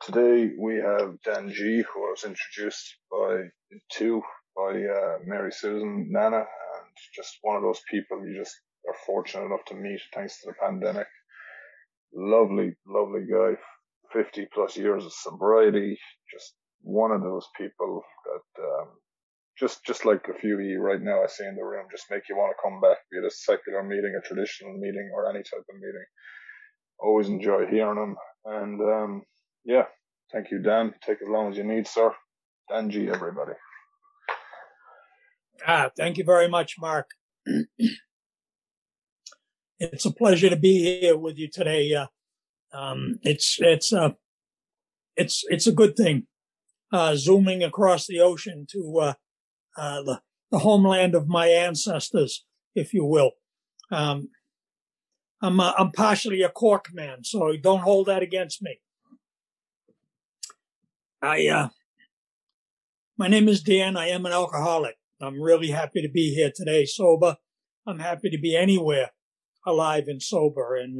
Today we have Dan G, who I was introduced by Mary Susan Nana, and just one of those people you just are fortunate enough to meet thanks to the pandemic. Lovely, lovely guy, 50 plus years of sobriety, just one of those people that just like a few of you right now I see in the room, just make you want to come back, be it a secular meeting, a traditional meeting, or any type of meeting. Always enjoy hearing them, and yeah. Thank you, Dan. Take as long as you need, sir. Dan G, everybody. Thank you very much, Mark. It's a pleasure to be here with you today. It's a good thing. Zooming across the ocean to the homeland of my ancestors, if you will. I'm partially a Cork man, so don't hold that against me. My name is Dan. I am an alcoholic. I'm really happy to be here today, sober. I'm happy to be anywhere alive and sober. And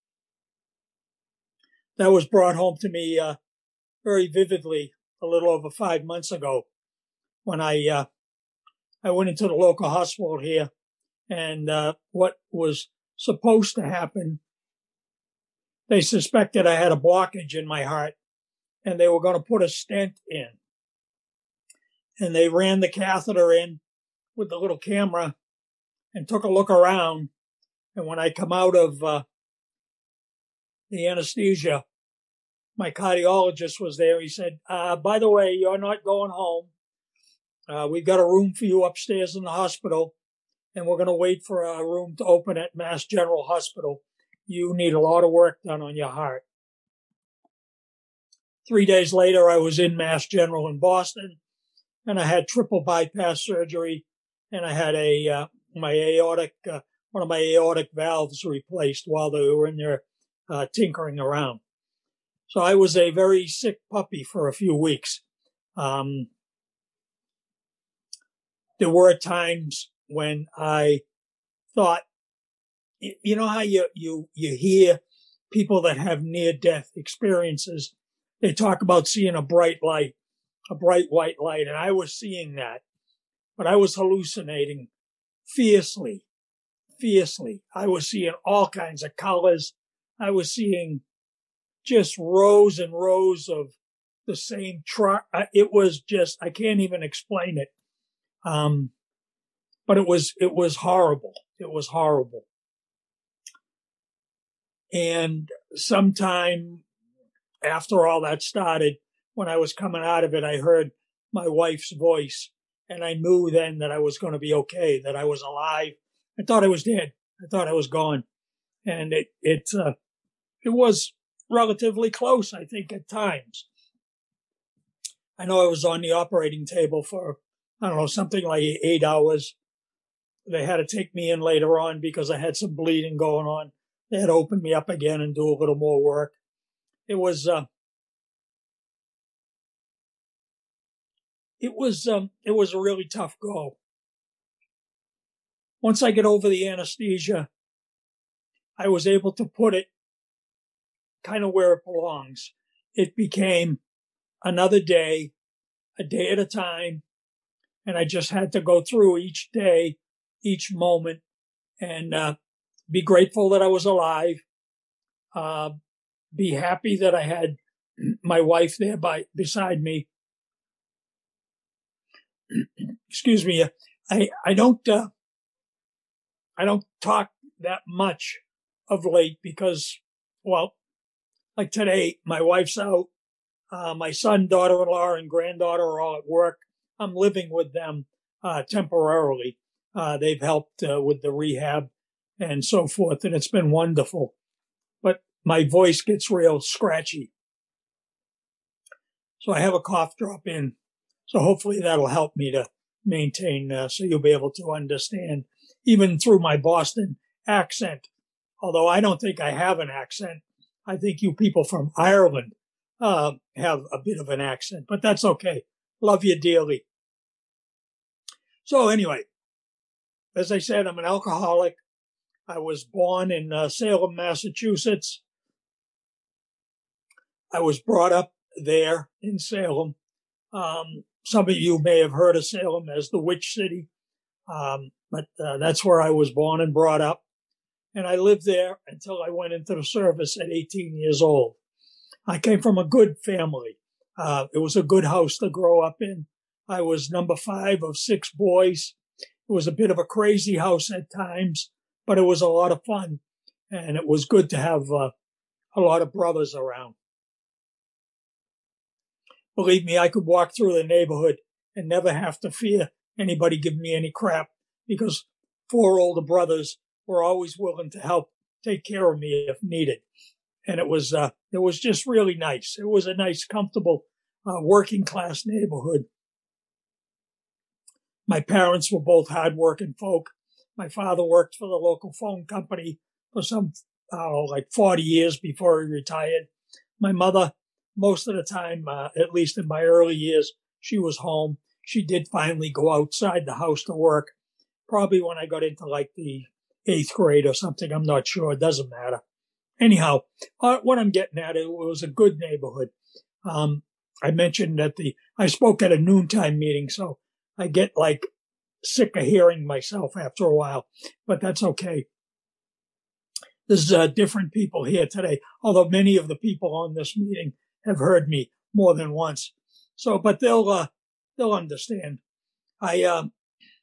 that was brought home to me very vividly a little over 5 months ago when I went into the local hospital here, and what was supposed to happen, they suspected I had a blockage in my heart, and they were going to put a stent in. And they ran the catheter in with the little camera and took a look around. And when I come out of the anesthesia, my cardiologist was there. He said, by the way, you're not going home. We've got a room for you upstairs in the hospital, and we're going to wait for a room to open at Mass General Hospital. You need a lot of work done on your heart. 3 days later, I was in Mass General in Boston, and I had triple bypass surgery, and I had one of my aortic valves replaced while they were in there tinkering around. So I was a very sick puppy for a few weeks. There were times when I thought, you know how you hear people that have near-death experiences, they talk about seeing a bright light, a bright white light, and I was seeing that, but I was hallucinating fiercely. I was seeing all kinds of colors. I was seeing just rows and rows of the same truck. It was just, I can't even explain it. But it was horrible. It was horrible. And sometime after all that started, when I was coming out of it, I heard my wife's voice, and I knew then that I was going to be okay, that I was alive. I thought I was dead. I thought I was gone. And it was relatively close, I think, at times. I know I was on the operating table for, I don't know, something like 8 hours. They had to take me in later on because I had some bleeding going on. They had to open me up again and do a little more work. It was a really tough go. Once I get over the anesthesia, I was able to put it kind of where it belongs. It became another day, a day at a time, and I just had to go through each day, each moment, and be grateful that I was alive, be happy that I had my wife there beside me. Excuse me. I don't talk that much of late because, well, like today, my wife's out. My son, daughter-in-law, and granddaughter are all at work. I'm living with them temporarily. They've helped with the rehab and so forth, and it's been wonderful. But my voice gets real scratchy. So I have a cough drop in. So hopefully that'll help me to maintain, so you'll be able to understand, even through my Boston accent. Although I don't think I have an accent. I think you people from Ireland have a bit of an accent, but that's okay. Love you dearly. So anyway, as I said, I'm an alcoholic. I was born in Salem, Massachusetts. I was brought up there in Salem. Some of you may have heard of Salem as the Witch City, but that's where I was born and brought up. And I lived there until I went into the service at 18 years old. I came from a good family. It was a good house to grow up in. I was number 5 of 6 boys. It was a bit of a crazy house at times, but it was a lot of fun. And it was good to have a lot of brothers around. Believe me, I could walk through the neighborhood and never have to fear anybody giving me any crap, because 4 older brothers were always willing to help take care of me if needed. And it was just really nice. It was a nice, comfortable, working class neighborhood. My parents were both hardworking folk. My father worked for the local phone company for some, like 40 years before he retired. My mother, most of the time, at least in my early years, she was home. She did finally go outside the house to work, probably when I got into like the 8th grade or something. I'm not sure. It doesn't matter. Anyhow, what I'm getting at, it was a good neighborhood. I mentioned that I spoke at a noontime meeting, so I get like sick of hearing myself after a while, but that's okay. There's different people here today, although many of the people on this meeting have heard me more than once. So, but they'll understand. The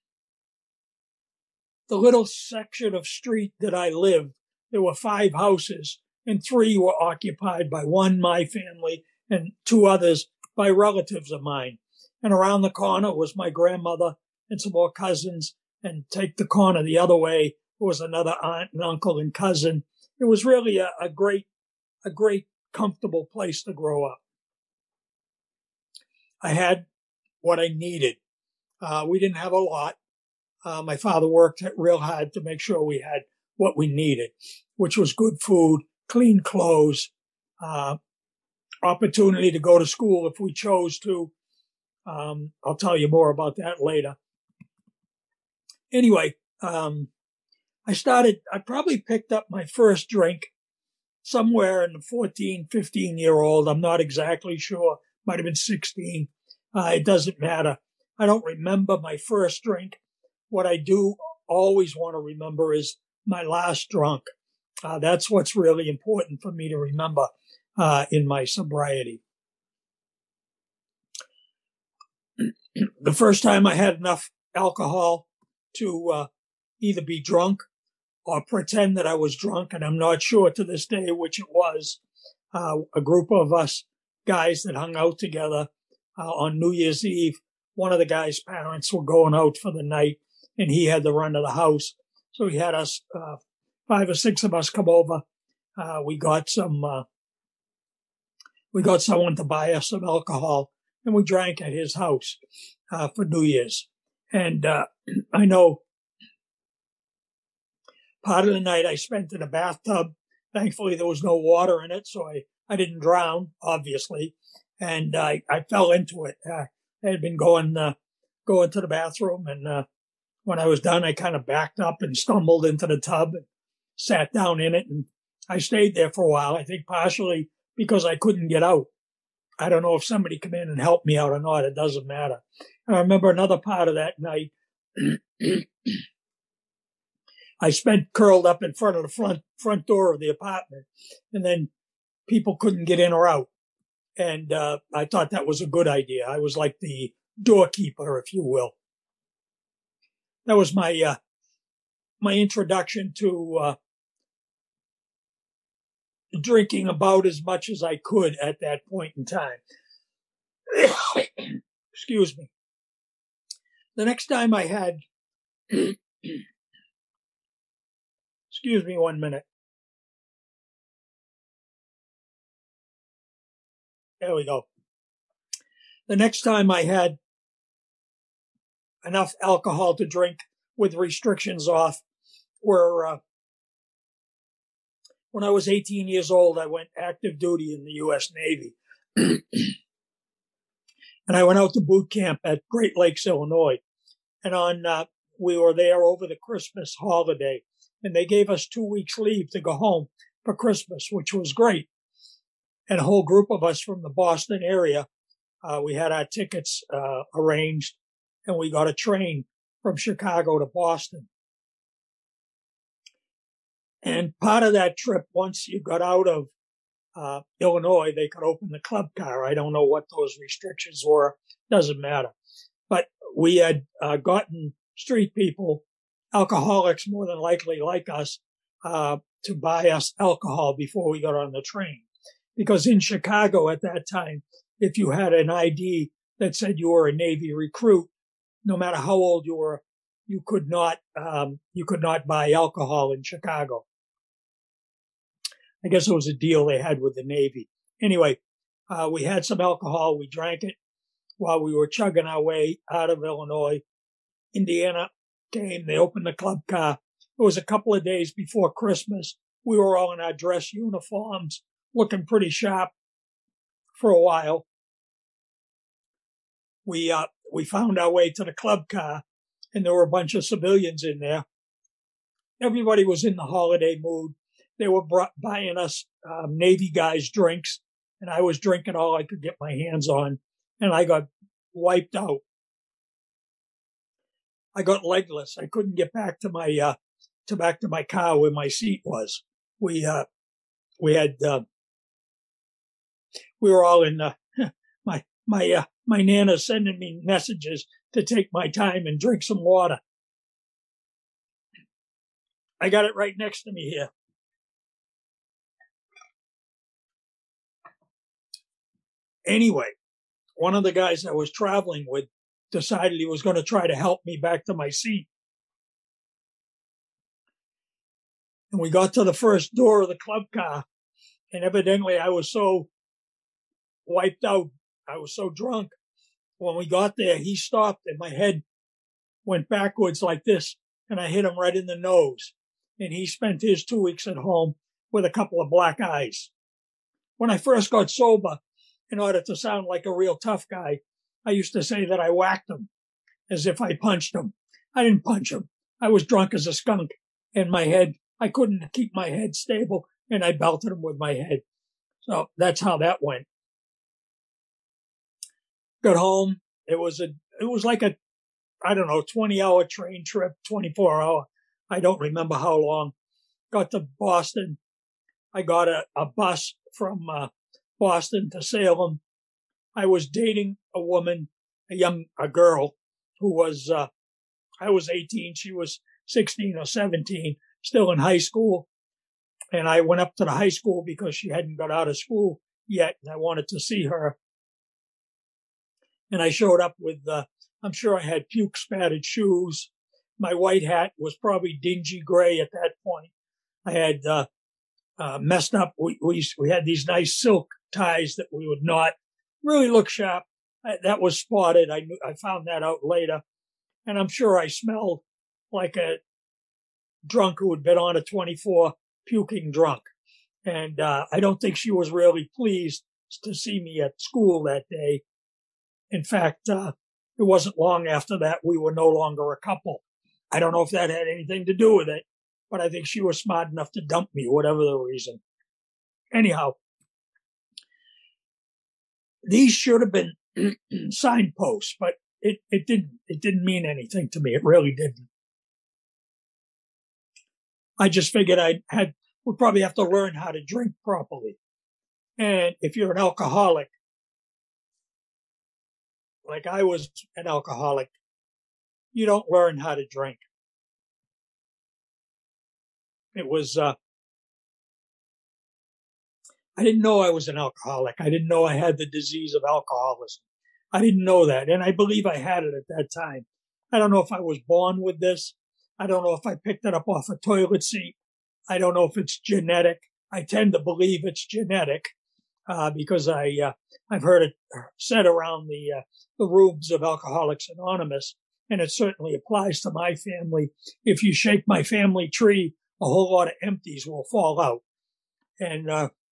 little section of street that I lived, there were 5 houses, and 3 were occupied by one, my family, and 2 others by relatives of mine. And around the corner was my grandmother and some more cousins, and take the corner the other way was another aunt and uncle and cousin. It was really a great, comfortable place to grow up. I had what I needed. We didn't have a lot. My father worked real hard to make sure we had what we needed, which was good food, clean clothes, opportunity to go to school if we chose to. I'll tell you more about that later. Anyway, I probably picked up my first drink somewhere in the 14, 15-year-old. I'm not exactly sure. Might have been 16. It doesn't matter. I don't remember my first drink. What I do always want to remember is my last drunk. That's what's really important for me to remember in my sobriety. The first time I had enough alcohol to either be drunk or pretend that I was drunk, and I'm not sure to this day which it was, a group of us guys that hung out together on New Year's Eve. One of the guys' parents were going out for the night, and he had the run of the house. So he had us, 5 or 6 of us come over. We got someone to buy us some alcohol, and we drank at his house for New Year's. And I know part of the night I spent in a bathtub. Thankfully, there was no water in it, so I didn't drown, obviously. And I fell into it. I had been going to the bathroom, and when I was done, I kind of backed up and stumbled into the tub and sat down in it. And I stayed there for a while, I think partially because I couldn't get out. I don't know if somebody come in and helped me out or not. It doesn't matter. And I remember another part of that night. I spent curled up in front of the front door of the apartment, and then people couldn't get in or out. And I thought that was a good idea. I was like the doorkeeper, if you will. That was my my introduction to drinking about as much as I could at that point in time. Excuse me. The next time I had, excuse me 1 minute. There we go. The next time I had enough alcohol to drink with restrictions off were when I was 18 years old. I went active duty in the U.S. Navy. And I went out to boot camp at Great Lakes, Illinois. And we were there over the Christmas holiday. And they gave us 2 weeks leave to go home for Christmas, which was great. and a whole group of us from the Boston area, we had our tickets arranged, and we got a train from Chicago to Boston. And part of that trip, once you got out of Illinois, they could open the club car. I don't know what those restrictions were. Doesn't matter. But we had gotten street people, alcoholics more than likely like us, to buy us alcohol before we got on the train. Because in Chicago at that time, if you had an ID that said you were a Navy recruit, no matter how old you were, you could not buy alcohol in Chicago. I guess it was a deal they had with the Navy. Anyway, we had some alcohol. We drank it while we were chugging our way out of Illinois. Indiana came. They opened the club car. It was a couple of days before Christmas. We were all in our dress uniforms, looking pretty sharp for a while. We found our way to the club car, and there were a bunch of civilians in there. Everybody was in the holiday mood. They were buying us Navy guys drinks, and I was drinking all I could get my hands on, and I got wiped out. I got legless. I couldn't get back to my car where my seat was. We were all in my Nana sending me messages to take my time and drink some water. I got it right next to me here. Anyway, one of the guys I was traveling with decided he was going to try to help me back to my seat. And we got to the first door of the club car, and evidently I was so wiped out. I was so drunk. When we got there, he stopped and my head went backwards like this, and I hit him right in the nose. And he spent his 2 weeks at home with a couple of black eyes. When I first got sober, in order to sound like a real tough guy, I used to say that I whacked him as if I punched him. I didn't punch him. I was drunk as a skunk, and I couldn't keep my head stable, and I belted him with my head. So that's how that went. Got home. It was like a, 20-hour train trip, 24-hour. I don't remember how long. Got to Boston. I got a bus from Boston to Salem. I was dating a woman, a girl who was, I was 18. She was 16 or 17, still in high school. And I went up to the high school because she hadn't got out of school yet, and I wanted to see her. And I showed up with, I'm sure I had puke spattered shoes. My white hat was probably dingy gray at that point. I had messed up. We had these nice silk ties that we would not really look sharp. That was spotted. I found that out later. And I'm sure I smelled like a drunk who had been on a 24 puking drunk. And I don't think she was really pleased to see me at school that day. In fact, it wasn't long after that we were no longer a couple. I don't know if that had anything to do with it, but I think she was smart enough to dump me, whatever the reason. Anyhow, these should have been signposts, but it didn't mean anything to me. It really didn't. I just figured would probably have to learn how to drink properly. And if you're an alcoholic, like I was an alcoholic, you don't learn how to drink. It was, I didn't know I was an alcoholic. I didn't know I had the disease of alcoholism. I didn't know that. And I believe I had it at that time. I don't know if I was born with this. I don't know if I picked it up off a toilet seat. I don't know if it's genetic. I tend to believe it's genetic, because I've heard it said around the rooms of Alcoholics Anonymous, and it certainly applies to my family. If you shake my family tree, a whole lot of empties will fall out. And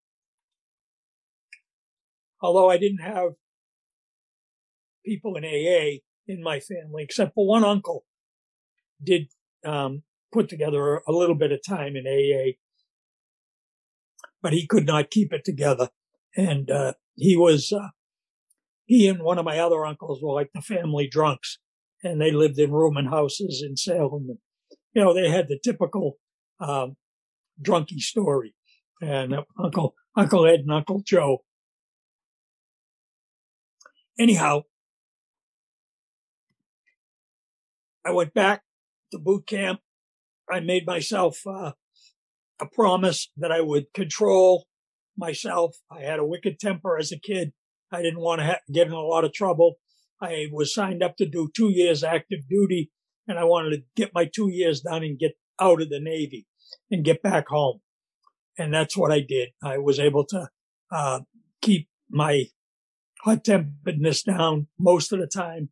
although I didn't have people in AA in my family, except for one uncle, did put together a little bit of time in AA, but he could not keep it together. And he and one of my other uncles were like the family drunks, and they lived in rooming houses in Salem. And, they had the typical drunkie story. And Uncle Ed and Uncle Joe. Anyhow, I went back to boot camp. I made myself a promise that I would control myself. I had a wicked temper as a kid. I didn't want to get in a lot of trouble. I was signed up to do 2 years active duty, and I wanted to get my 2 years done and get out of the Navy and get back home. And that's what I did. I was able to keep my hot-temperedness down most of the time.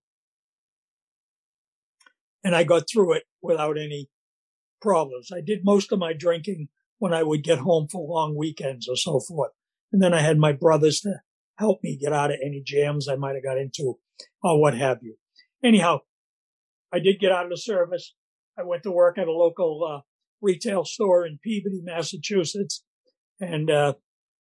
And I got through it without any problems. I did most of my drinking when I would get home for long weekends or so forth. And then I had my brothers to help me get out of any jams I might have got into or what have you. Anyhow, I did get out of the service. I went to work at a local retail store in Peabody, Massachusetts. And it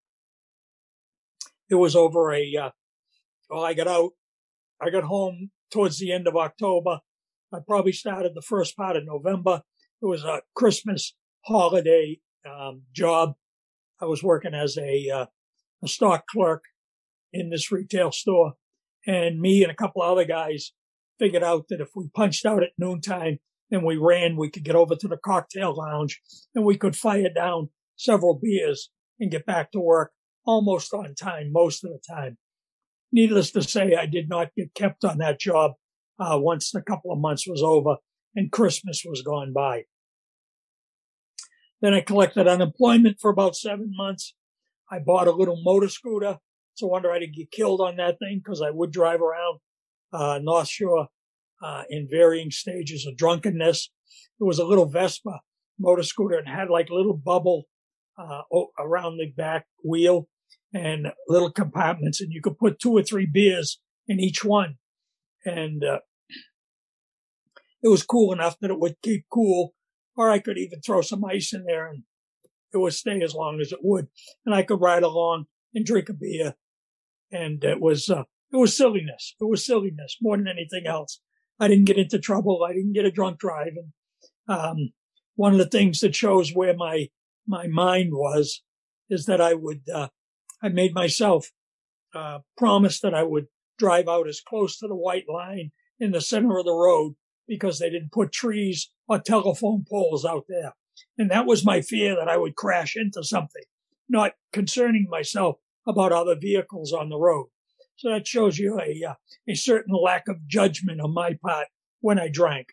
was over I got out. I got home towards the end of October. I probably started the first part of November. It was a Christmas holiday job. I was working as a stock clerk in this retail store. And me and a couple of other guys figured out that if we punched out at noontime and we ran, we could get over to the cocktail lounge and we could fire down several beers and get back to work almost on time most of the time. Needless to say, I did not get kept on that job once the couple of months was over and Christmas was gone by. Then I collected unemployment for about 7 months. I bought a little motor scooter. It's a wonder I didn't get killed on that thing because I would drive around North Shore in varying stages of drunkenness. It was a little Vespa motor scooter and had like a little bubble around the back wheel and little compartments, and you could put 2 or 3 beers in each one. And it was cool enough that it would keep cool, or I could even throw some ice in there and it would stay as long as it would. And I could ride along and drink a beer. And it was silliness. It was silliness more than anything else. I didn't get into trouble. I didn't get a drunk drive. And one of the things that shows where my mind was is that I made myself promise that I would drive out as close to the white line in the center of the road because they didn't put trees or telephone poles out there. And that was my fear, that I would crash into something, not concerning myself about other vehicles on the road. So that shows you a certain lack of judgment on my part when I drank.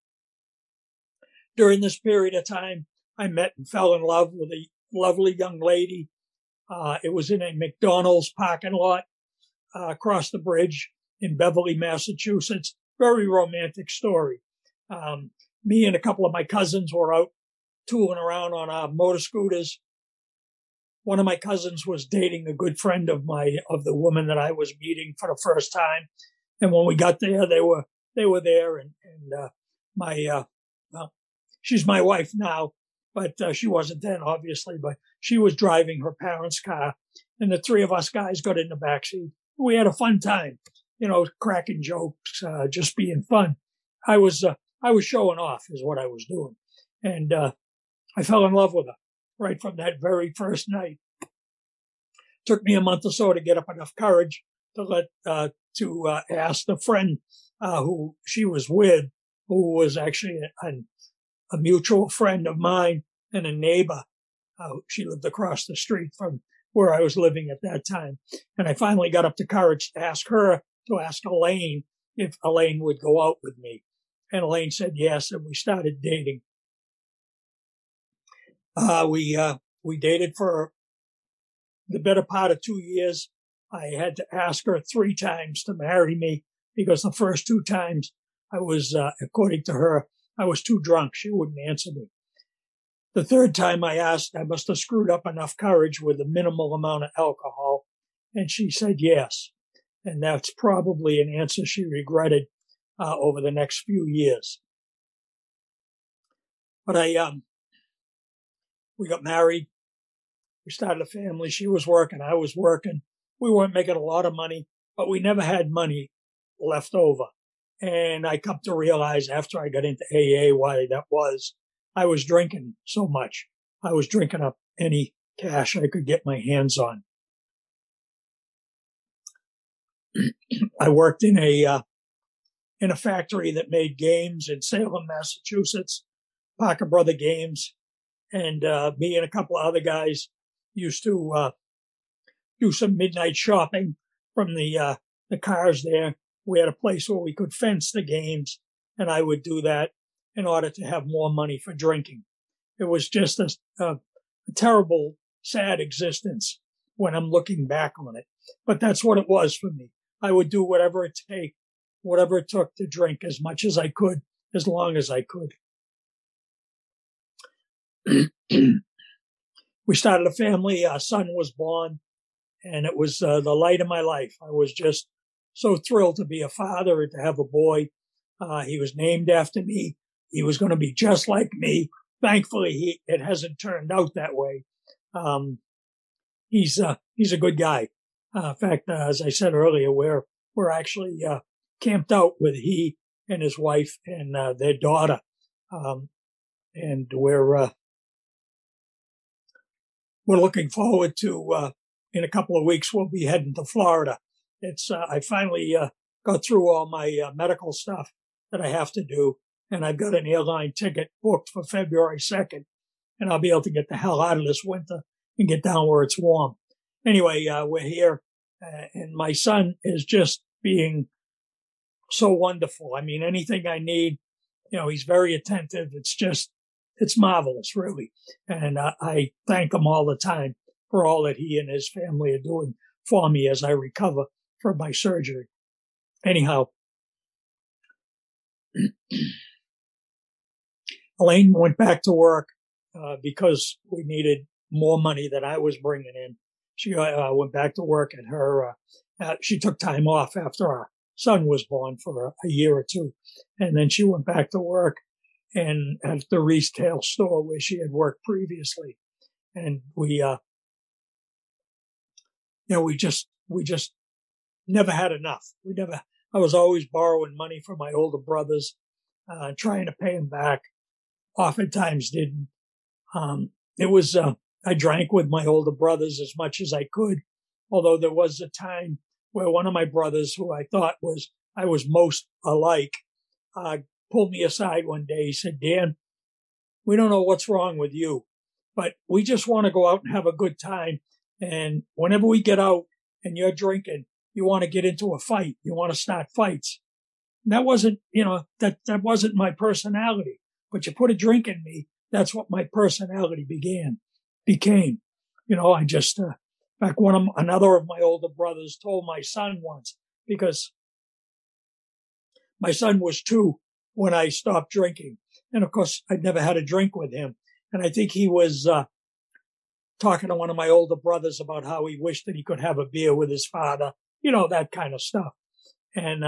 During this period of time, I met and fell in love with a lovely young lady. It was in a McDonald's parking lot across the bridge in Beverly, Massachusetts. Very romantic story. Me and a couple of my cousins were out tooling around on our motor scooters. One of my cousins was dating a good friend of the woman that I was meeting for the first time. And when we got there, they were there. And she's my wife now, but she wasn't then, obviously, but she was driving her parents' car. And the 3 of us guys got in the backseat. We had a fun time, cracking jokes, just being fun. I was showing off is what I was doing. And, I fell in love with her right from that very first night. Took me a month or so to get up enough courage to ask the friend, who she was with, who was actually a mutual friend of mine and a neighbor. She lived across the street from where I was living at that time. And I finally got up the courage to ask her to ask Elaine if Elaine would go out with me. And Elaine said yes, and we started dating. We dated for the better part of 2 years. I had to ask her 3 times to marry me because the first 2 times I was, according to her, I was too drunk. She wouldn't answer me. The 3rd time I asked, I must have screwed up enough courage with a minimal amount of alcohol. And she said yes. And that's probably an answer she regretted over the next few years. But we got married. We started a family. She was working. I was working. We weren't making a lot of money, but we never had money left over. And I come to realize after I got into AA why that was. I was drinking so much. I was drinking up any cash I could get my hands on. I worked in a factory that made games in Salem, Massachusetts, Parker Brother Games. And me and a couple of other guys used to do some midnight shopping from the cars there. We had a place where we could fence the games, and I would do that in order to have more money for drinking. It was just a terrible, sad existence when I'm looking back on it. But that's what it was for me. I would do whatever it took to drink as much as I could, as long as I could. We started a family. Our son was born, and it was the light of my life. I was just so thrilled to be a father and to have a boy. He was named after me. He was going to be just like me. Thankfully, it hasn't turned out that way. He's a good guy. In fact, as I said earlier, we're actually camped out with he and his wife and their daughter, and we're looking forward to in a couple of weeks we'll be heading to Florida. I finally got through all my medical stuff that I have to do, and I've got an airline ticket booked for February 2nd, and I'll be able to get the hell out of this winter and get down where it's warm. Anyway, we're here, and my son is just being so wonderful. I mean, anything I need, he's very attentive. It's marvelous, really. And I thank him all the time for all that he and his family are doing for me as I recover from my surgery. Anyhow, Elaine went back to work because we needed more money than I was bringing in. She went back to work at her. She took time off after our son was born for a year or two, and then she went back to work and at the retail store where she had worked previously. And we just never had enough. I was always borrowing money from my older brothers, trying to pay them back. Oftentimes didn't. I drank with my older brothers as much as I could, although there was a time where one of my brothers, who I thought I was most alike, pulled me aside one day. He said, "Dan, we don't know what's wrong with you, but we just want to go out and have a good time. And whenever we get out and you're drinking, you want to get into a fight. You want to start fights." And that wasn't, that wasn't my personality. But you put a drink in me, that's what my personality became. I just, in fact, another of my older brothers told my son once, because my son was 2 when I stopped drinking. And of course, I'd never had a drink with him. And I think he was talking to one of my older brothers about how he wished that he could have a beer with his father, that kind of stuff. And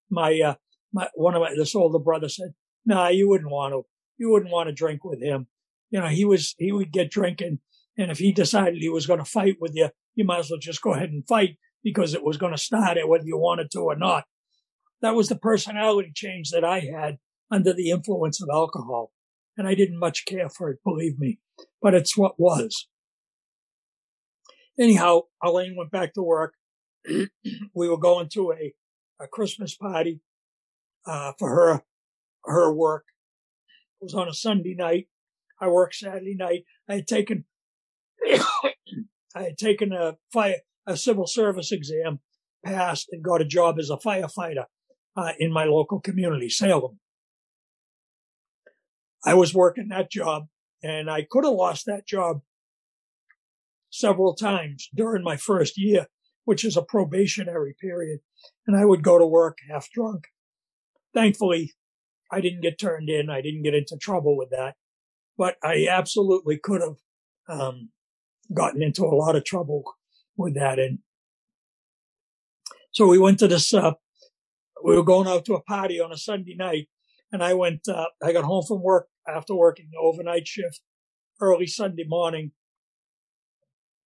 this older brother said, "Nah, you wouldn't want to drink with him. He would get drinking, and if he decided he was going to fight with you, you might as well just go ahead and fight, because it was going to start it whether you wanted to or not." That was the personality change that I had under the influence of alcohol. And I didn't much care for it, believe me, but it's what was. Anyhow, Elaine went back to work. We were going to a Christmas party for her work. It was on a Sunday night. I worked Saturday night. I had taken a civil service exam, passed, and got a job as a firefighter in my local community, Salem. I was working that job, and I could have lost that job several times during my first year, which is a probationary period, and I would go to work half drunk. Thankfully, I didn't get turned in. I didn't get into trouble with that, but I absolutely could have gotten into a lot of trouble with that. And so we went to this, we were going out to a party on a Sunday night, and I got home from work after working the overnight shift early Sunday morning.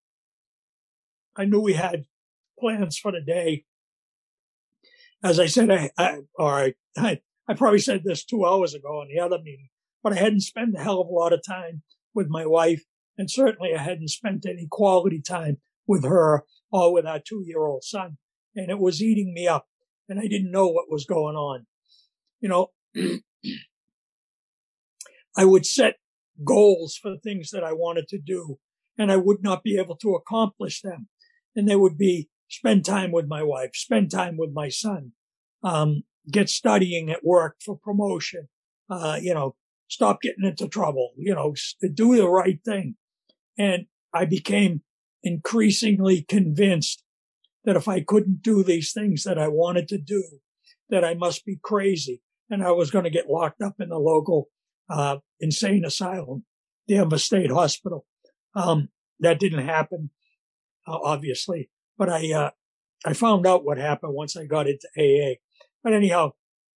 I knew we had plans for the day. As I said, I probably said this 2 hours ago in the other meeting, but I hadn't spent a hell of a lot of time with my wife, and certainly I hadn't spent any quality time with her or with our 2-year-old son. And it was eating me up, and I didn't know what was going on. You know, I would set goals for things that I wanted to do, and I would not be able to accomplish them. And they would be spend time with my wife, spend time with my son, get studying at work for promotion, stop getting into trouble, do the right thing. And I became increasingly convinced that if I couldn't do these things that I wanted to do, that I must be crazy and I was going to get locked up in the local insane asylum, Danvers State Hospital. That didn't happen, obviously, but I found out what happened once I got into AA. But anyhow,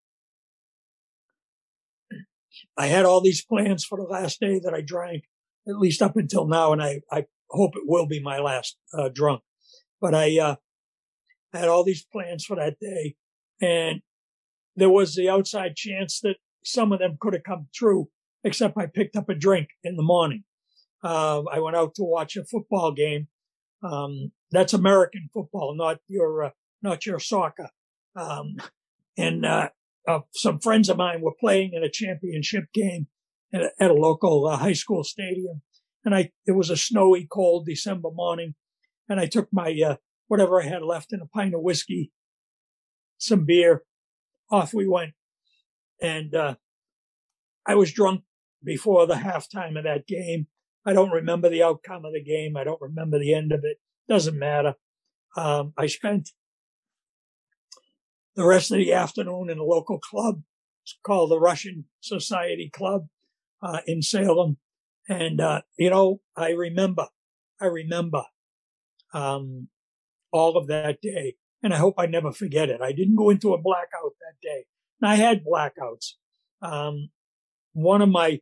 I had all these plans for the last day that I drank, at least up until now, and I hope it will be my last drunk. But I had all these plans for that day, and there was the outside chance that some of them could have come true, except I picked up a drink in the morning. I went out to watch a football game. That's American football, not your soccer. And some friends of mine were playing in a championship game at a local high school stadium. And it was a snowy, cold December morning. And I took my, whatever I had left in a pint of whiskey, some beer, off we went. And, I was drunk before the halftime of that game. I don't remember the outcome of the game. I don't remember the end of it. Doesn't matter. I spent the rest of the afternoon in a local club. It's called the Russian Society Club, in Salem. And, I remember, all of that day. And I hope I never forget it. I didn't go into a blackout that day. And I had blackouts. One of my,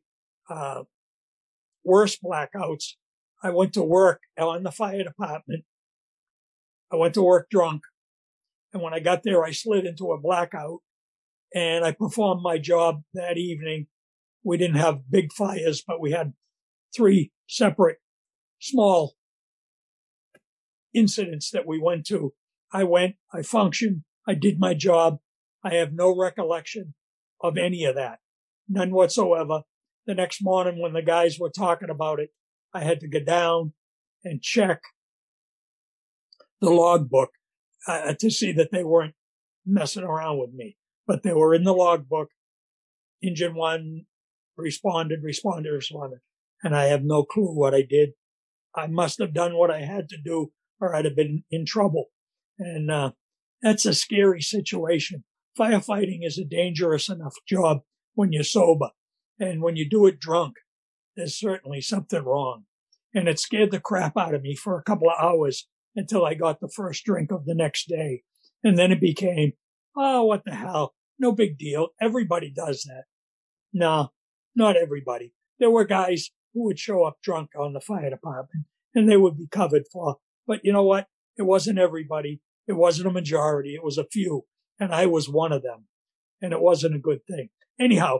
worst blackouts, I went to work on the fire department. I went to work drunk. And when I got there, I slid into a blackout and I performed my job that evening. We didn't have big fires, but we had 3 separate small incidents that we went to. I functioned, I did my job. I have no recollection of any of that. None whatsoever. The next morning when the guys were talking about it, I had to go down and check the logbook to see that they weren't messing around with me. But they were in the logbook. Engine 1 responded. And I have no clue what I did. I must have done what I had to do or I'd have been in trouble. And that's a scary situation. Firefighting is a dangerous enough job when you're sober. And when you do it drunk, there's certainly something wrong. And it scared the crap out of me for a couple of hours until I got the first drink of the next day. And then it became, oh, what the hell? No big deal. Everybody does that. No, not everybody. There were guys who would show up drunk on the fire department and they would be covered for. But you know what? It wasn't everybody. It wasn't a majority. It was a few. And I was one of them. And it wasn't a good thing. Anyhow,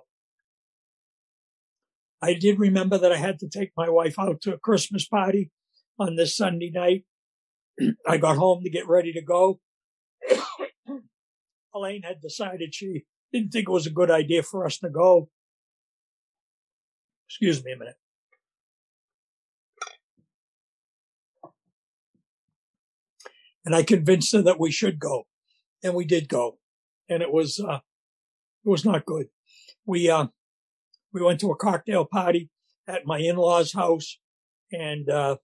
I did remember that I had to take my wife out to a Christmas party on this Sunday night. I got home to get ready to go. Elaine had decided she didn't think it was a good idea for us to go. Excuse me a minute. And I convinced her that we should go. And we did go. And it was not good. We went to a cocktail party at my in-laws' house, and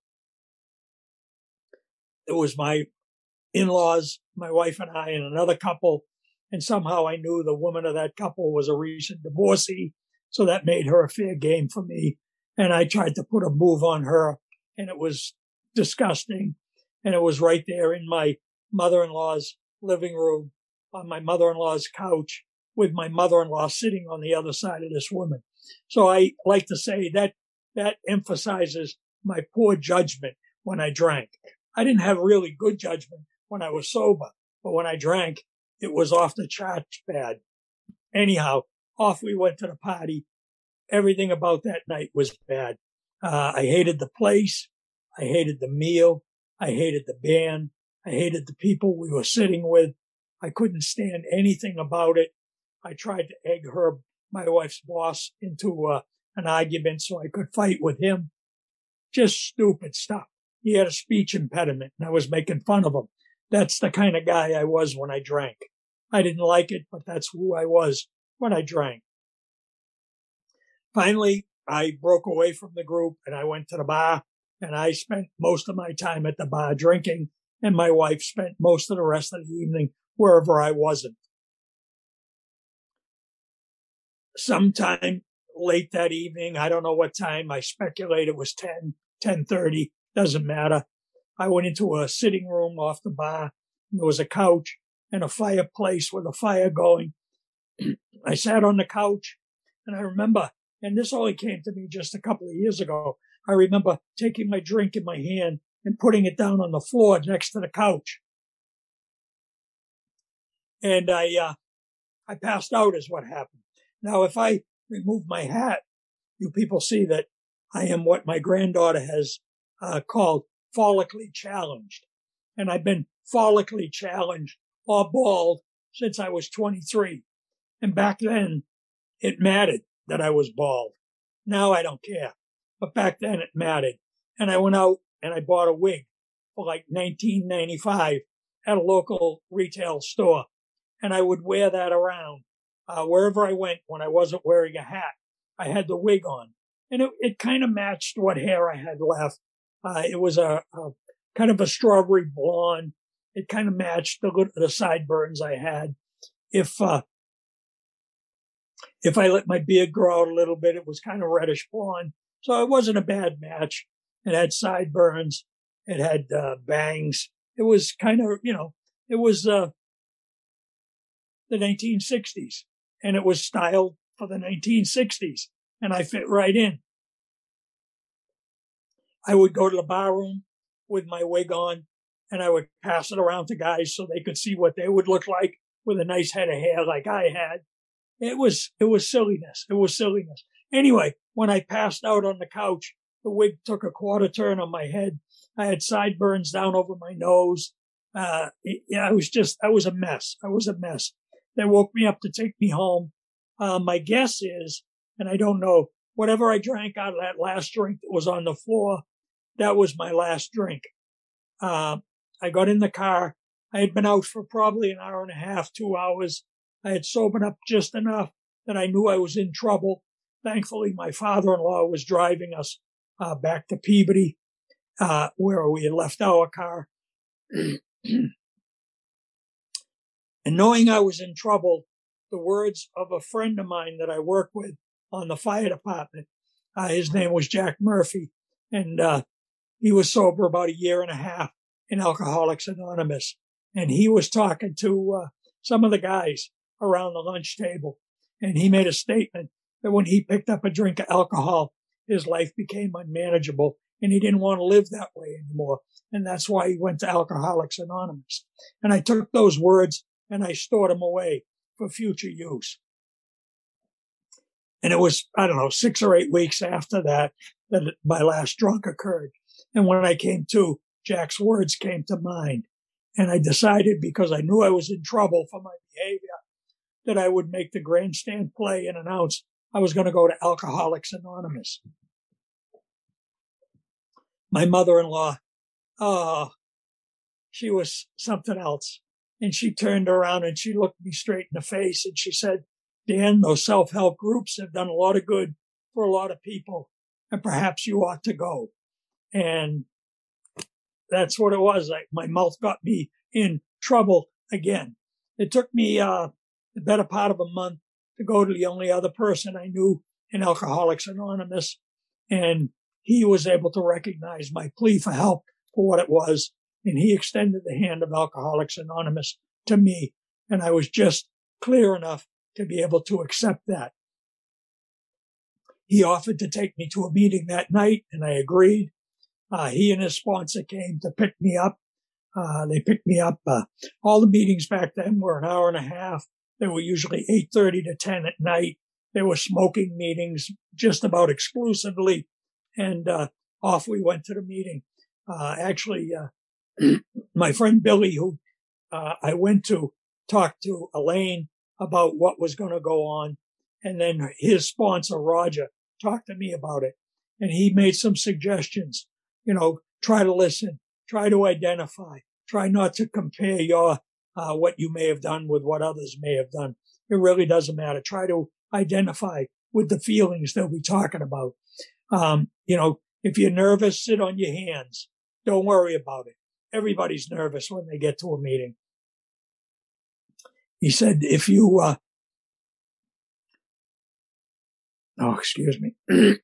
it was my in-laws, my wife and I, and another couple. And somehow I knew the woman of that couple was a recent divorcee, so that made her a fair game for me. And I tried to put a move on her, and it was disgusting. And it was right there in my mother-in-law's living room, on my mother-in-law's couch, with my mother-in-law sitting on the other side of this woman. So I like to say that emphasizes my poor judgment when I drank. I didn't have really good judgment when I was sober, but when I drank, it was off the charts bad. Anyhow, off we went to the party. Everything about that night was bad. I hated the place. I hated the meal. I hated the band. I hated the people we were sitting with. I couldn't stand anything about it. I tried to egg Herb, my wife's boss, into an argument so I could fight with him. Just stupid stuff. He had a speech impediment, and I was making fun of him. That's the kind of guy I was when I drank. I didn't like it, but that's who I was when I drank. Finally, I broke away from the group, and I went to the bar, and I spent most of my time at the bar drinking, and my wife spent most of the rest of the evening wherever I wasn't. Sometime late that evening, I don't know what time, I speculate it was 10:30, doesn't matter. I went into a sitting room off the bar, and there was a couch and a fireplace with a fire going. I sat on the couch, and I remember, and this only came to me just a couple of years ago, I remember taking my drink in my hand and putting it down on the floor next to the couch. And I passed out is what happened. Now, if I remove my hat, you people see that I am what my granddaughter has called follically challenged. And I've been follically challenged or bald since I was 23. And back then, it mattered that I was bald. Now I don't care. But back then it mattered. And I went out and I bought a wig for like $19.95 at a local retail store. And I would wear that around wherever I went when I wasn't wearing a hat. I had the wig on. And it kind of matched what hair I had left. It was a kind of a strawberry blonde. It kind of matched the sideburns I had. If I let my beard grow out a little bit, it was kind of reddish blonde. So it wasn't a bad match. It had sideburns. It had bangs. It was kind of, it was the 1960s. And it was styled for the 1960s. And I fit right in. I would go to the bar room with my wig on, and I would pass it around to guys so they could see what they would look like with a nice head of hair like I had. It was silliness. It was silliness. Anyway, when I passed out on the couch, the wig took a quarter turn on my head. I had sideburns down over my nose. I was a mess. I was a mess. They woke me up to take me home. My guess is, and I don't know, whatever I drank out of that last drink that was on the floor, that was my last drink. I got in the car. I had been out for probably an hour and a half, 2 hours. I had sobered up just enough that I knew I was in trouble. Thankfully, my father-in-law was driving us back to Peabody, where we had left our car. And knowing I was in trouble, the words of a friend of mine that I worked with on the fire department, his name was Jack Murphy, and he was sober about a year and a half in Alcoholics Anonymous. And he was talking to some of the guys around the lunch table. And he made a statement that when he picked up a drink of alcohol, his life became unmanageable and he didn't want to live that way anymore. And that's why he went to Alcoholics Anonymous. And I took those words and I stored them away for future use. And it was, 6 or 8 weeks after that my last drunk occurred. And when I came to, Jack's words came to mind. And I decided, because I knew I was in trouble for my behavior, that I would make the grandstand play and announce I was going to go to Alcoholics Anonymous. My mother-in-law, she was something else. And she turned around and she looked me straight in the face and she said, Dan, those self-help groups have done a lot of good for a lot of people, and perhaps you ought to go. And that's what it was. My mouth got me in trouble again. It took me the better part of a month to go to the only other person I knew in Alcoholics Anonymous, and he was able to recognize my plea for help for what it was, and he extended the hand of Alcoholics Anonymous to me, and I was just clear enough to be able to accept that. He offered to take me to a meeting that night, and I agreed. He and his sponsor came to pick me up. They picked me up. All the meetings back then were an hour and a half. They were usually 8:30 to 10 at night. They were smoking meetings just about exclusively. And off we went to the meeting. Actually, my friend Billy, who I went to talk to Elaine about what was going to go on. And then his sponsor, Roger, talked to me about it. And he made some suggestions. Try to listen, try to identify, try not to compare your what you may have done with what others may have done. It really doesn't matter. Try to identify with the feelings they'll be talking about. If you're nervous, sit on your hands. Don't worry about it. Everybody's nervous when they get to a meeting. He said, if you, excuse me.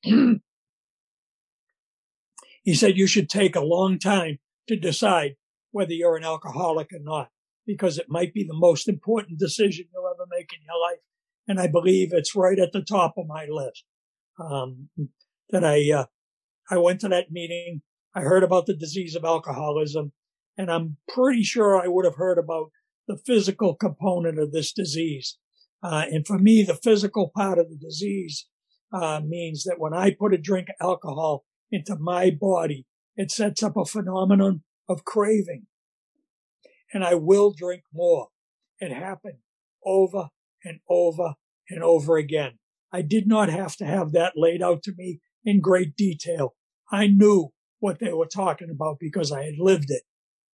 He said you should take a long time to decide whether you're an alcoholic or not, because it might be the most important decision you'll ever make in your life. And I believe it's right at the top of my list. That I went to that meeting. I heard about the disease of alcoholism, and I'm pretty sure I would have heard about the physical component of this disease. And for me, the physical part of the disease means that when I put a drink of alcohol into my body, it sets up a phenomenon of craving. And I will drink more. It happened over and over and over again. I did not have to have that laid out to me in great detail. I knew what they were talking about because I had lived it.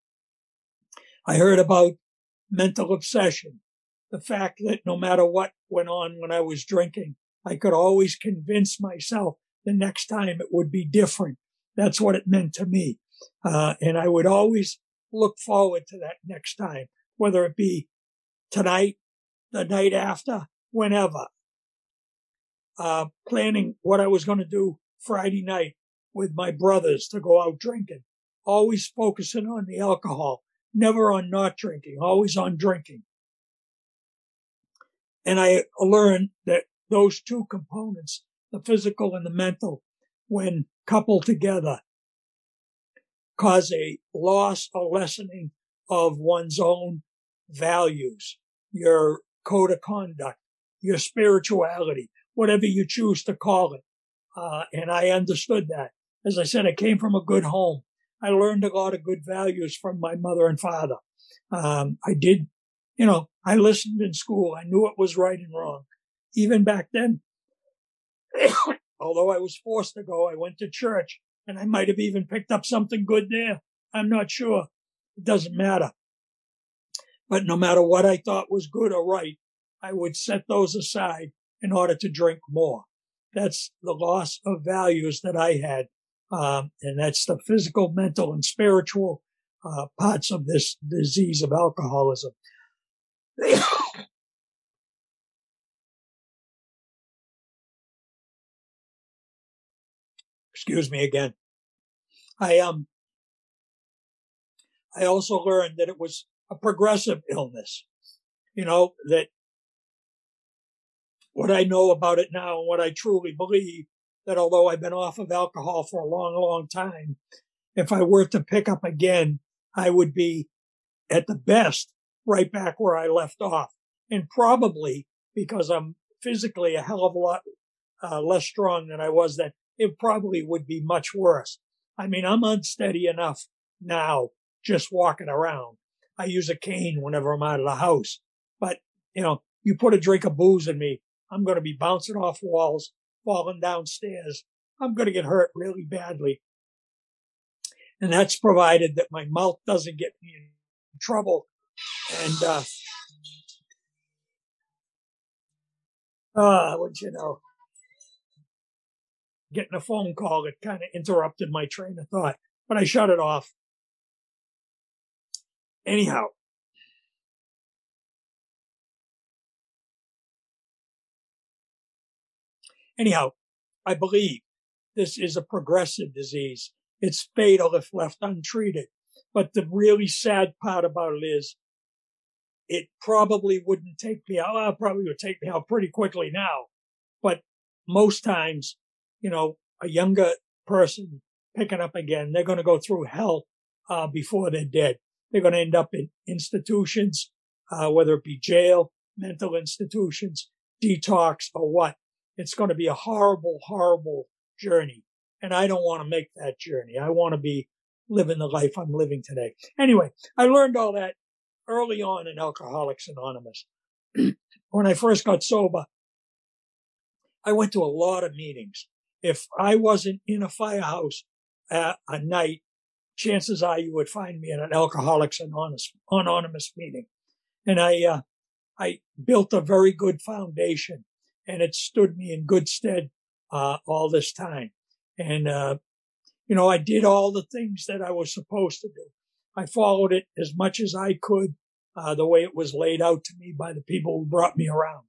I heard about mental obsession, the fact that no matter what went on when I was drinking, I could always convince myself the next time it would be different. That's what it meant to me. And I would always look forward to that next time, whether it be tonight, the night after, whenever. Planning what I was going to do Friday night with my brothers to go out drinking, always focusing on the alcohol, never on not drinking, always on drinking. And I learned that those two components, the physical and the mental, when coupled together, cause a loss or lessening of one's own values, your code of conduct, your spirituality, whatever you choose to call it. And I understood that. As I said, I came from a good home. I learned a lot of good values from my mother and father. I listened in school. I knew what was right and wrong. Even back then, although I was forced to go, I went to church, and I might have even picked up something good there. I'm not sure. It doesn't matter. But no matter what I thought was good or right, I would set those aside in order to drink more. That's the loss of values that I had. And that's the physical, mental, and spiritual parts of this disease of alcoholism. Excuse me again. I also learned that it was a progressive illness. That what I know about it now and what I truly believe, that although I've been off of alcohol for a long, long time, if I were to pick up again, I would be at the best right back where I left off. And probably because I'm physically a hell of a lot less strong than I was then, it probably would be much worse. I mean, I'm unsteady enough now just walking around. I use a cane whenever I'm out of the house. But, you put a drink of booze in me, I'm going to be bouncing off walls, falling downstairs. I'm going to get hurt really badly. And that's provided that my mouth doesn't get me in trouble. And, getting a phone call that kind of interrupted my train of thought, but I shut it off. Anyhow, I believe this is a progressive disease. It's fatal if left untreated. But the really sad part about it is it probably wouldn't take me out. Well, it probably would take me out pretty quickly now. But most times, a younger person picking up again. They're going to go through hell before they're dead. They're going to end up in institutions, whether it be jail, mental institutions, detox, or what. It's going to be a horrible, horrible journey. And I don't want to make that journey. I want to be living the life I'm living today. Anyway, I learned all that early on in Alcoholics Anonymous. When I first got sober, I went to a lot of meetings. If I wasn't in a firehouse at a night, chances are you would find me at an Alcoholics Anonymous meeting. And I built a very good foundation, and it stood me in good stead all this time. And I did all the things that I was supposed to do. I followed it as much as I could, the way it was laid out to me by the people who brought me around.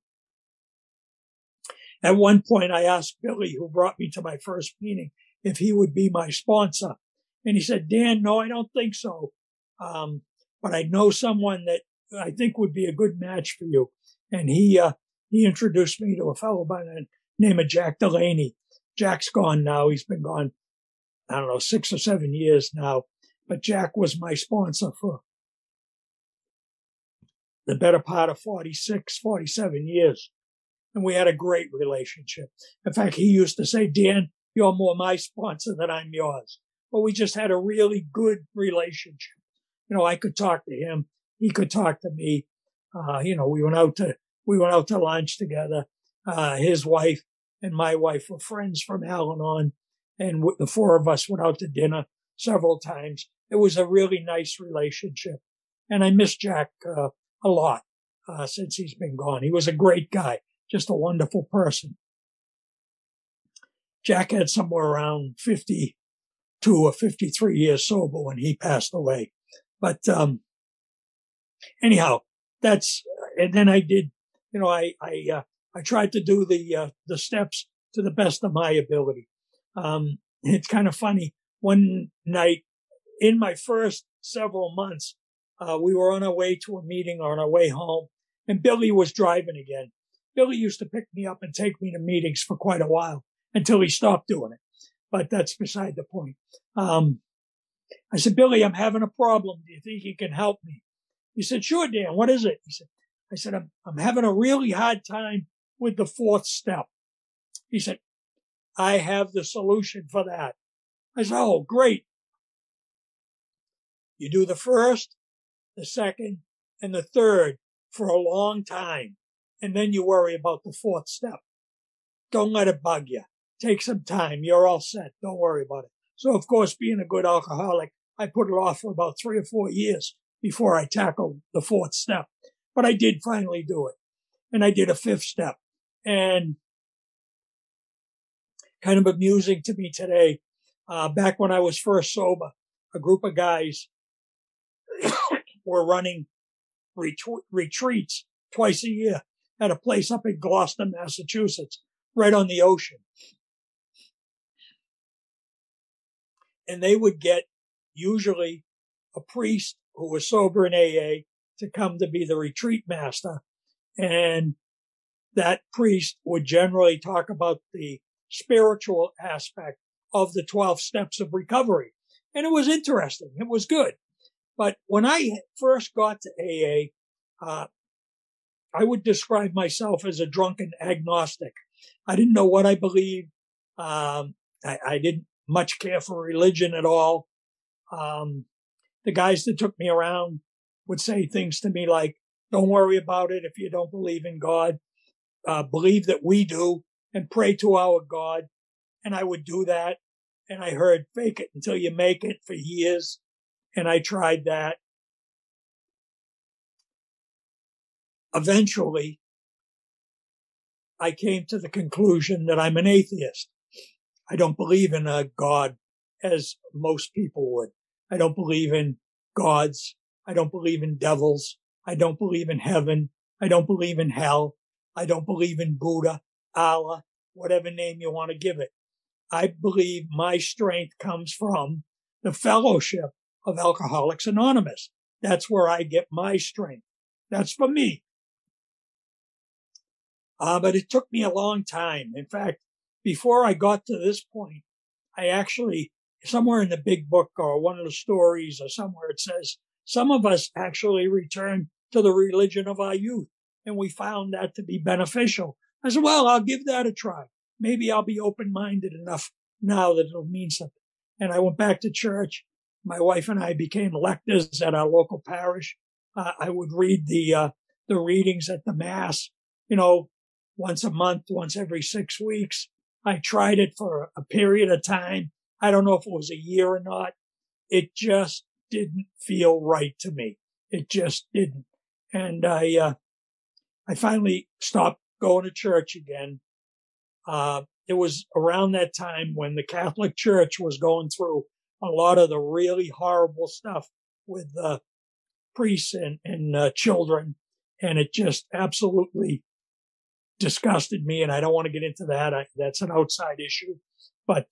At one point, I asked Billy, who brought me to my first meeting, if he would be my sponsor. And he said, Dan, no, I don't think so. But I know someone that I think would be a good match for you. And he introduced me to a fellow by the name of Jack Delaney. Jack's gone now. He's been gone, 6 or 7 years now. But Jack was my sponsor for the better part of 46, 47 years. And we had a great relationship. In fact, he used to say, Dan, you're more my sponsor than I'm yours. But we just had a really good relationship. I could talk to him. He could talk to me. We went out to lunch together. His wife and my wife were friends from Al-Anon, and the four of us went out to dinner several times. It was a really nice relationship. And I miss Jack a lot since he's been gone. He was a great guy, just a wonderful person. Jack had somewhere around 52 or 53 years sober when he passed away. But anyhow, and then I did, I tried to do the steps to the best of my ability. It's kind of funny. One night in my first several months, we were on our way to a meeting or on our way home, and Billy was driving again. Billy used to pick me up and take me to meetings for quite a while until he stopped doing it. But that's beside the point. I said, Billy, I'm having a problem. Do you think you can help me? He said, sure, Dan. What is it? I said, I'm having a really hard time with the fourth step. He said, I have the solution for that. I said, oh, great. You do the first, the second, and the third for a long time. And then you worry about the fourth step. Don't let it bug you. Take some time. You're all set. Don't worry about it. So, of course, being a good alcoholic, I put it off for about 3 or 4 years before I tackled the fourth step. But I did finally do it. And I did a fifth step. And kind of amusing to me today, back when I was first sober, a group of guys were running retreats twice a year at a place up in Gloucester, Massachusetts, right on the ocean. And they would get usually a priest who was sober in AA to come to be the retreat master. And that priest would generally talk about the spiritual aspect of the 12 steps of recovery. And it was interesting. It was good. But when I first got to AA, I would describe myself as a drunken agnostic. I didn't know what I believed. I didn't much care for religion at all. The guys that took me around would say things to me like, don't worry about it if you don't believe in God. Believe that we do and pray to our God. And I would do that. And I heard fake it until you make it for years. And I tried that. Eventually, I came to the conclusion that I'm an atheist. I don't believe in a God as most people would. I don't believe in gods. I don't believe in devils. I don't believe in heaven. I don't believe in hell. I don't believe in Buddha, Allah, whatever name you want to give it. I believe my strength comes from the fellowship of Alcoholics Anonymous. That's where I get my strength. That's for me. But it took me a long time. In fact, before I got to this point, I actually somewhere in the big book or one of the stories or somewhere it says some of us actually return to the religion of our youth, and we found that to be beneficial. I said, well, I'll give that a try. Maybe I'll be open-minded enough now that it'll mean something. And I went back to church. My wife and I became lectors at our local parish. I would read the readings at the Mass, once a month, once every 6 weeks. I tried it for a period of time. I don't know if it was a year or not. It just didn't feel right to me. It just didn't. And I finally stopped going to church again. It was around that time when the Catholic Church was going through a lot of the really horrible stuff with priests and children. And it just absolutely disgusted me. And I don't want to get into that. That's an outside issue. But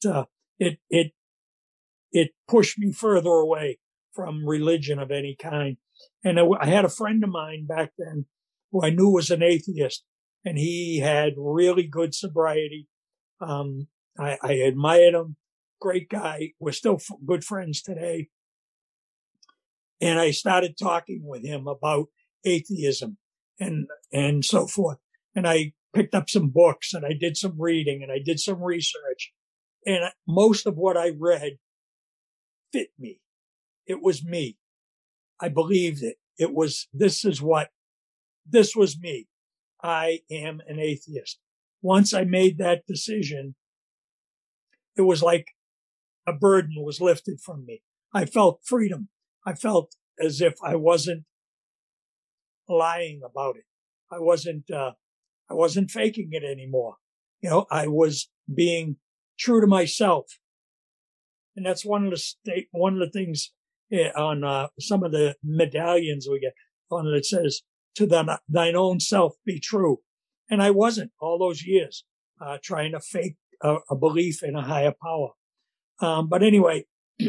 it pushed me further away from religion of any kind. And I had a friend of mine back then who I knew was an atheist, and he had really good sobriety. I admired him. Great guy. We're still good friends today. And I started talking with him about atheism and so forth. And I picked up some books and I did some reading and I did some research. And most of what I read fit me. It was me. I believed it. This was me. I am an atheist. Once I made that decision, it was like a burden was lifted from me. I felt freedom. I felt as if I wasn't lying about it. I wasn't faking it anymore. I was being true to myself. And that's one of the things on some of the medallions we get on it says, to thine own self be true. And I wasn't all those years trying to fake a belief in a higher power. But anyway,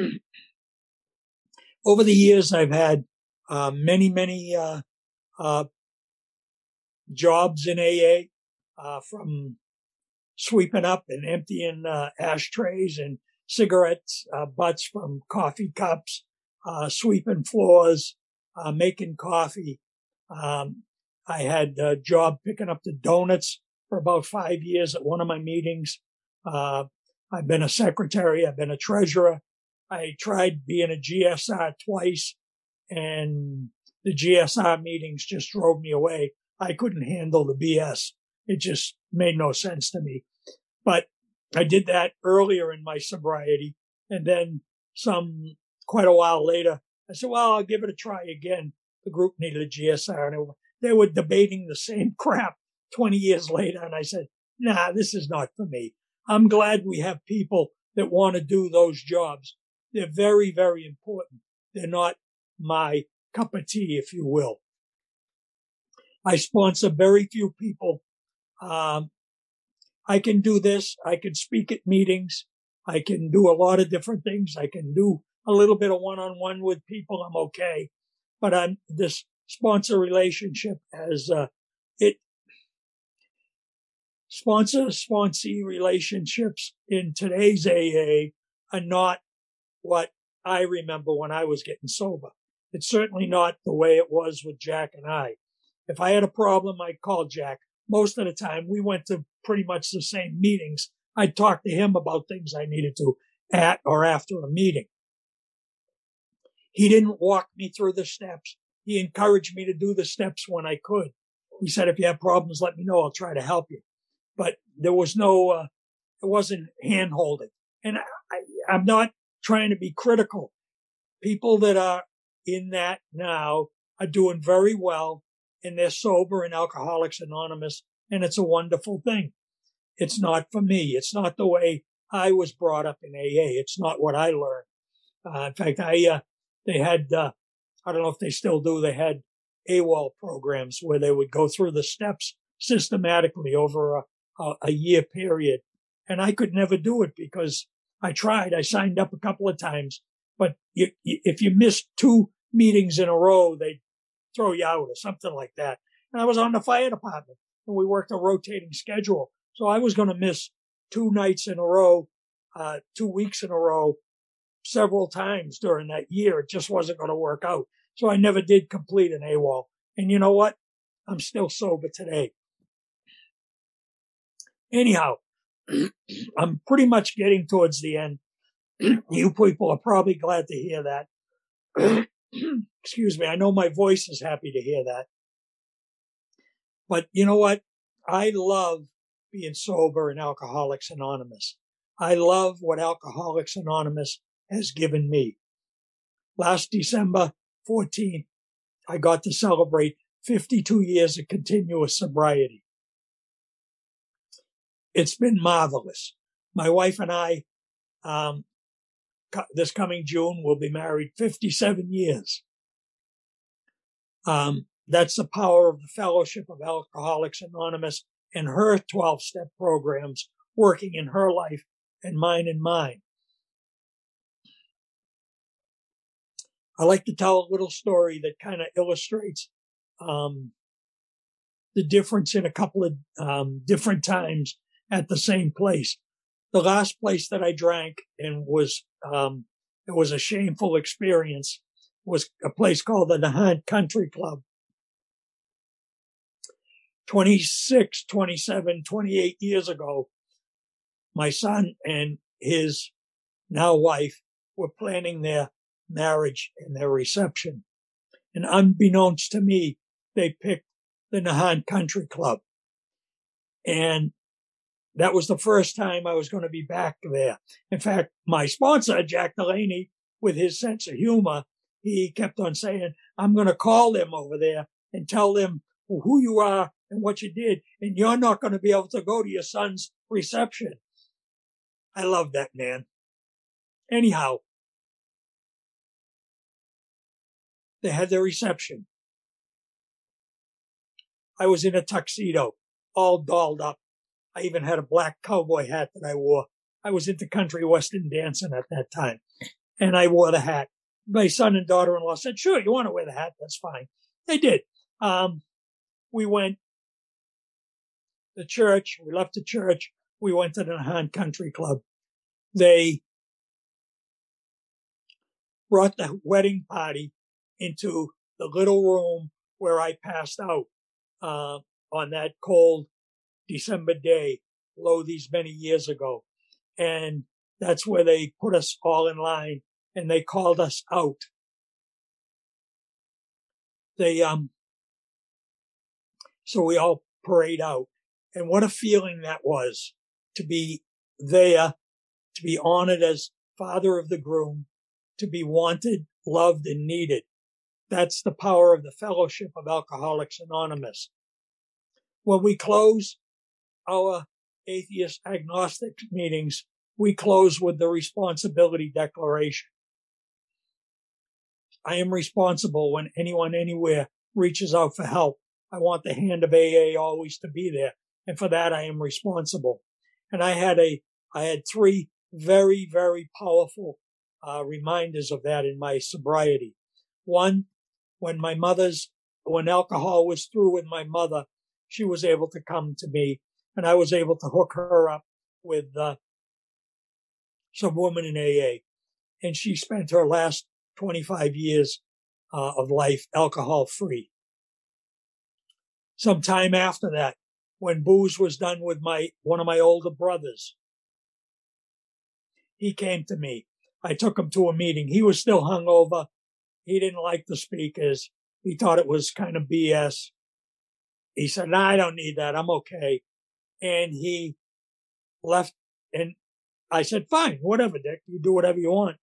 over the years, I've had many jobs in AA, from sweeping up and emptying ashtrays and cigarettes butts from coffee cups, sweeping floors, making coffee. I had a job picking up the donuts for about 5 years at one of my meetings. I've been a secretary. I've been a treasurer. I tried being a GSR twice, and the GSR meetings just drove me away. I couldn't handle the BS. It just made no sense to me. But I did that earlier in my sobriety. And then quite a while later, I said, well, I'll give it a try again. The group needed a GSR, and they were debating the same crap 20 years later. And I said, nah, this is not for me. I'm glad we have people that want to do those jobs. They're very, very important. They're not my cup of tea, if you will. I sponsor very few people. I can do this. I can speak at meetings. I can do a lot of different things. I can do a little bit of one-on-one with people. I'm okay. But this sponsor relationship sponsor-sponsee relationships in today's AA are not what I remember when I was getting sober. It's certainly not the way it was with Jack and I. If I had a problem, I'd call Jack. Most of the time, we went to pretty much the same meetings. I'd talk to him about things I needed to at or after a meeting. He didn't walk me through the steps. He encouraged me to do the steps when I could. He said, if you have problems, let me know. I'll try to help you. But there was it wasn't hand holding. And I'm not trying to be critical. People that are in that now are doing very well, and they're sober in Alcoholics Anonymous, and it's a wonderful thing. It's not for me. It's not the way I was brought up in AA. It's not what I learned. In fact, they had, I don't know if they still do, they had AWOL programs where they would go through the steps systematically over a year period. And I could never do it because I tried. I signed up a couple of times, but if you missed 2 meetings in a row, they'd throw you out or something like that. And I was on the fire department, and we worked a rotating schedule. So I was going to miss 2 nights in a row, 2 weeks in a row. several times during that year. It just wasn't going to work out. So I never did complete an AWOL. And you know what? I'm still sober today. Anyhow, I'm pretty much getting towards the end. You people are probably glad to hear that. Excuse me. I know my voice is happy to hear that. But you know what? I love being sober in Alcoholics Anonymous. I love what Alcoholics Anonymous has given me. Last December 14th, I got to celebrate 52 years of continuous sobriety. It's been marvelous. My wife and I, this coming June, will be married 57 years. That's the power of the Fellowship of Alcoholics Anonymous and her 12-step programs working in her life and mine. I like to tell a little story that kind of illustrates the difference in a couple of different times at the same place. The last place that I drank and it was a shameful experience was a place called the Nahant Country Club. 26, 27, 28 years ago, my son and his now wife were planning their marriage and their reception. And unbeknownst to me, they picked the Nahant Country Club. And that was the first time I was going to be back there. In fact, my sponsor, Jack Delaney, with his sense of humor, he kept on saying, I'm going to call them over there and tell them who you are and what you did, and you're not going to be able to go to your son's reception. I love that man. Anyhow, they had their reception. I was in a tuxedo, all dolled up. I even had a black cowboy hat that I wore. I was into country western dancing at that time, and I wore the hat. My son and daughter-in-law said, sure, you want to wear the hat? That's fine. They did. We went to church. We left the church. We went to the Nahant Country Club. They brought the wedding party into the little room where I passed out on that cold December day, these many years ago. And that's where they put us all in line and they called us out. So we all parade out. And what a feeling that was to be there, to be honored as father of the groom, to be wanted, loved, and needed. That's the power of the Fellowship of Alcoholics Anonymous. When we close our atheist agnostic meetings, we close with the responsibility declaration. I am responsible when anyone anywhere reaches out for help. I want the hand of AA always to be there. And for that, I am responsible. And I had 3 very, very powerful reminders of that in my sobriety. One, when alcohol was through with my mother, she was able to come to me and I was able to hook her up with some woman in AA. And she spent her last 25 years of life alcohol free. Some time after that, when booze was done with one of my older brothers, he came to me. I took him to a meeting. He was still hungover. He didn't like the speakers. He thought it was kind of BS. He said, no, I don't need that. I'm okay. And he left. And I said, fine, whatever, Dick. You do whatever you want.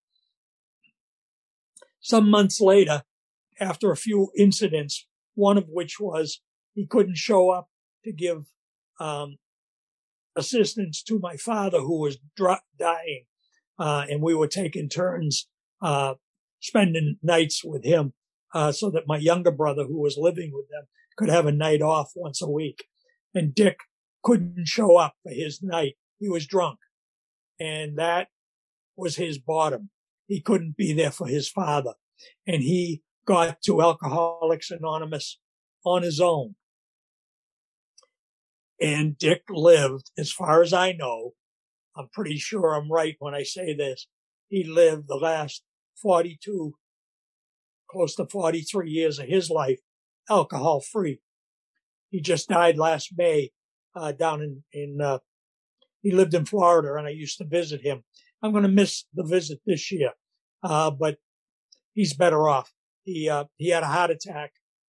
Some months later, after a few incidents, one of which was he couldn't show up to give assistance to my father who was dying. And we were taking turns spending nights with him so that my younger brother who was living with them could have a night off once a week. And Dick couldn't show up for his night. He was drunk. And that was his bottom. He couldn't be there for his father. And he got to Alcoholics Anonymous on his own. And Dick lived, as far as I know, I'm pretty sure I'm right when I say this, he lived the last 42, close to 43 years of his life alcohol free. He just died last May, down he lived in Florida, and I used to visit him. I'm going to miss the visit this year, but he's better off. He had a heart attack.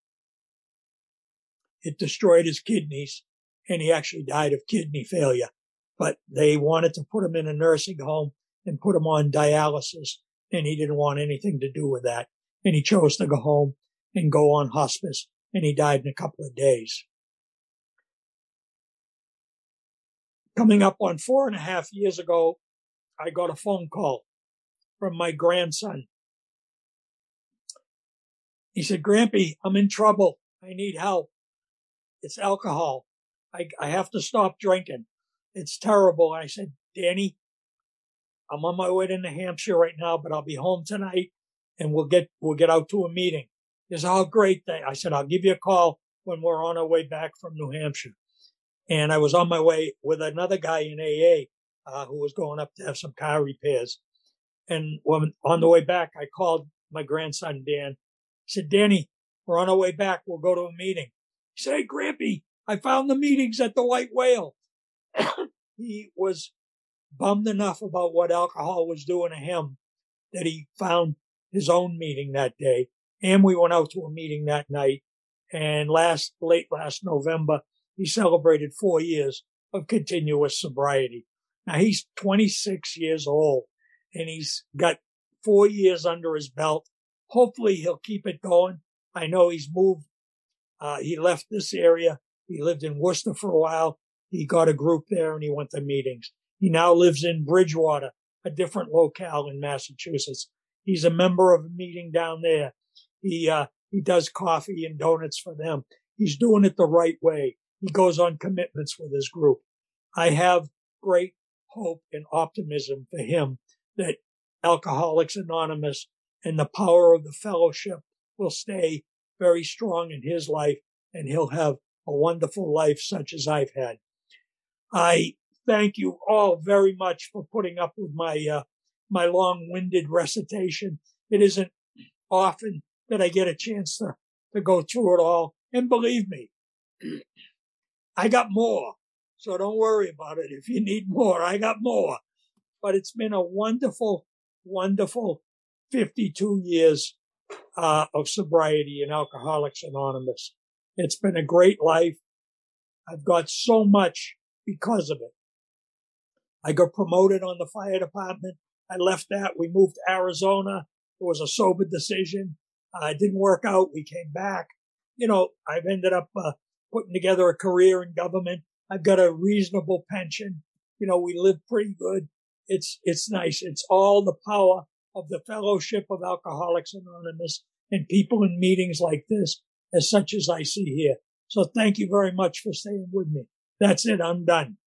It destroyed his kidneys, and he actually died of kidney failure. But they wanted to put him in a nursing home and put him on dialysis, and he didn't want anything to do with that. And he chose to go home and go on hospice, and he died in a couple of days. Coming up on 4.5 years ago, I got a phone call from my grandson. He said, "Grampy, I'm in trouble. I need help. It's alcohol. I have to stop drinking. It's terrible." I said, "Danny, I'm on my way to New Hampshire right now, but I'll be home tonight, and we'll get out to a meeting." He said, "Oh, great." I said, "I'll give you a call when we're on our way back from New Hampshire." And I was on my way with another guy in AA, who was going up to have some car repairs. And when on the way back, I called my grandson, Dan. I said, "Danny, we're on our way back. We'll go to a meeting." He said, "Hey, Grampy, I found the meetings at the White Whale." He was bummed enough about what alcohol was doing to him that he found his own meeting that day. And we went out to a meeting that night. And late last November, he celebrated 4 years of continuous sobriety. Now he's 26 years old, and he's got 4 years under his belt. Hopefully he'll keep it going. I know he's moved. He left this area. He lived in Worcester for a while. He got a group there and he went to meetings. He now lives in Bridgewater, a different locale in Massachusetts. He's a member of a meeting down there. He does coffee and donuts for them. He's doing it the right way. He goes on commitments with his group. I have great hope and optimism for him that Alcoholics Anonymous and the power of the fellowship will stay very strong in his life, and he'll have a wonderful life such as I've had. I thank you all very much for putting up with my long-winded recitation. It isn't often that I get a chance to go through it all. And believe me, I got more. So don't worry about it. If you need more, I got more. But it's been a wonderful, wonderful 52 years of sobriety in Alcoholics Anonymous. It's been a great life. I've got so much because of it. I got promoted on the fire department. I left that. We moved to Arizona. It was a sober decision. It didn't work out. We came back. I've ended up putting together a career in government. I've got a reasonable pension. We live pretty good. It's nice. It's all the power of the fellowship of Alcoholics Anonymous and people in meetings like this, as such as I see here. So thank you very much for staying with me. That's it. I'm done.